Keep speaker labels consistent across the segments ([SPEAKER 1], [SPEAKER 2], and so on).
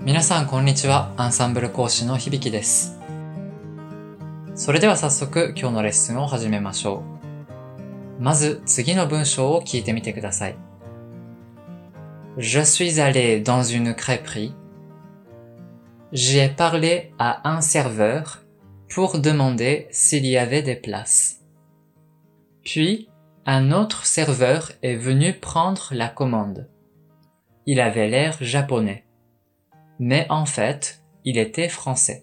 [SPEAKER 1] 皆さんこんにちは。アンサンブル講師の響です。それでは早速今日のレッスンを始めましょう。まず次の文章を聞いてみてください。Je suis allé dans une crêperie. J'ai parlé à un serveur pour demander s'il y avait des places. Puis, un autre serveur est venu prendre la commande. Il avait l'air japonais. Mais en fait, il était français.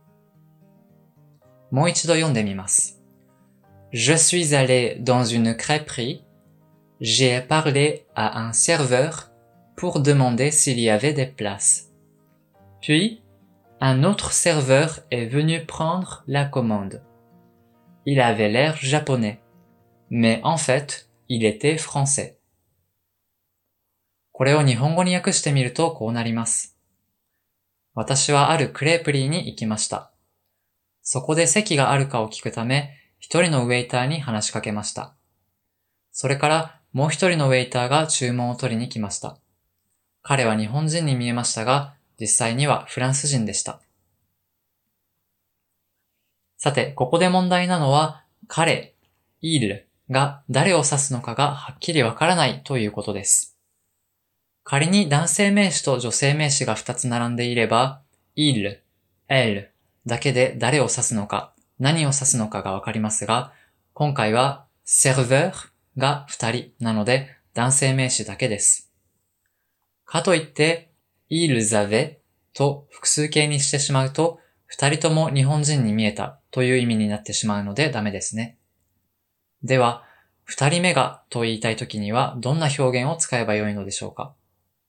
[SPEAKER 1] もう一度読んでみます。Je suis allé dans une crêperie. J'ai parlé à un serveur pour demander s'il y avait des places. Puis, un autre serveur est venu prendre la commande. Il avait l'air japonais. Mais en fait, il était français. これを日本語に訳してみるとこうなります。私はあるクレープリーに行きました。そこで席があるかを聞くため、一人のウェイターに話しかけました。それからもう一人のウェイターが注文を取りに来ました。彼は日本人に見えましたが、実際にはフランス人でした。さて、ここで問題なのは、彼、il が誰を指すのかがはっきりわからないということです。仮に男性名詞と女性名詞が2つ並んでいれば、il、elle だけで誰を指すのか、何を指すのかがわかりますが、今回は serveur が2人なので男性名詞だけです。かといって、ils avaient と複数形にしてしまうと、2人とも日本人に見えたという意味になってしまうのでダメですね。では、2人目がと言いたいときにはどんな表現を使えばよいのでしょうか。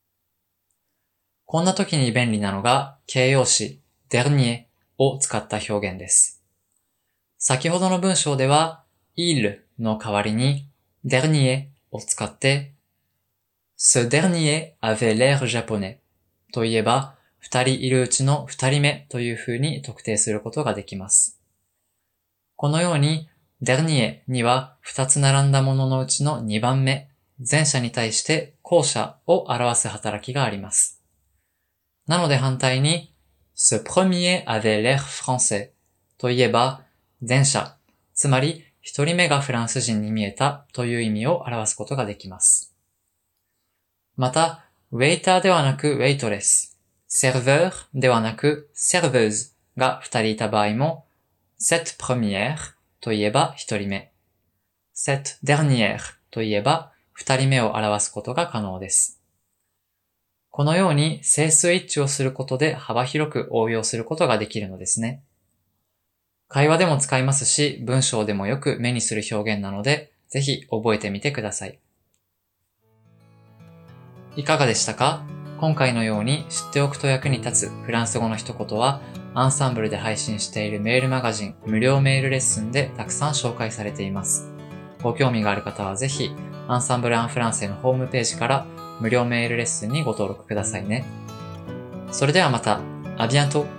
[SPEAKER 1] こんな時に便利なのが形容詞 dernier を使った表現です。先ほどの文章では il の代わりに dernier を使って ce dernier avait l'air japonais と言えば2人いるうちの2人目というふうに特定することができます。このように dernier には2つ並んだもののうちの2番目、前者に対して後者を表す働きがあります。なので反対に、ce premier avait l'air français といえば、前者、つまり一人目がフランス人に見えたという意味を表すことができます。また、ウェイターではなくウェイトレス、serveur ではなく serveuse が二人いた場合も、cette première といえば一人目、cette dernière といえば二人目を表すことが可能です。このように整数一致をすることで幅広く応用することができるのですね。会話でも使いますし、文章でもよく目にする表現なので、ぜひ覚えてみてください。いかがでしたか？今回のように知っておくと役に立つフランス語の一言は、アンサンブルで配信しているメールマガジン無料メールレッスンでたくさん紹介されています。ご興味がある方はぜひ、アンサンブル・アン・フランセのホームページから無料メールレッスンにご登録くださいね。それではまた、à bientôt!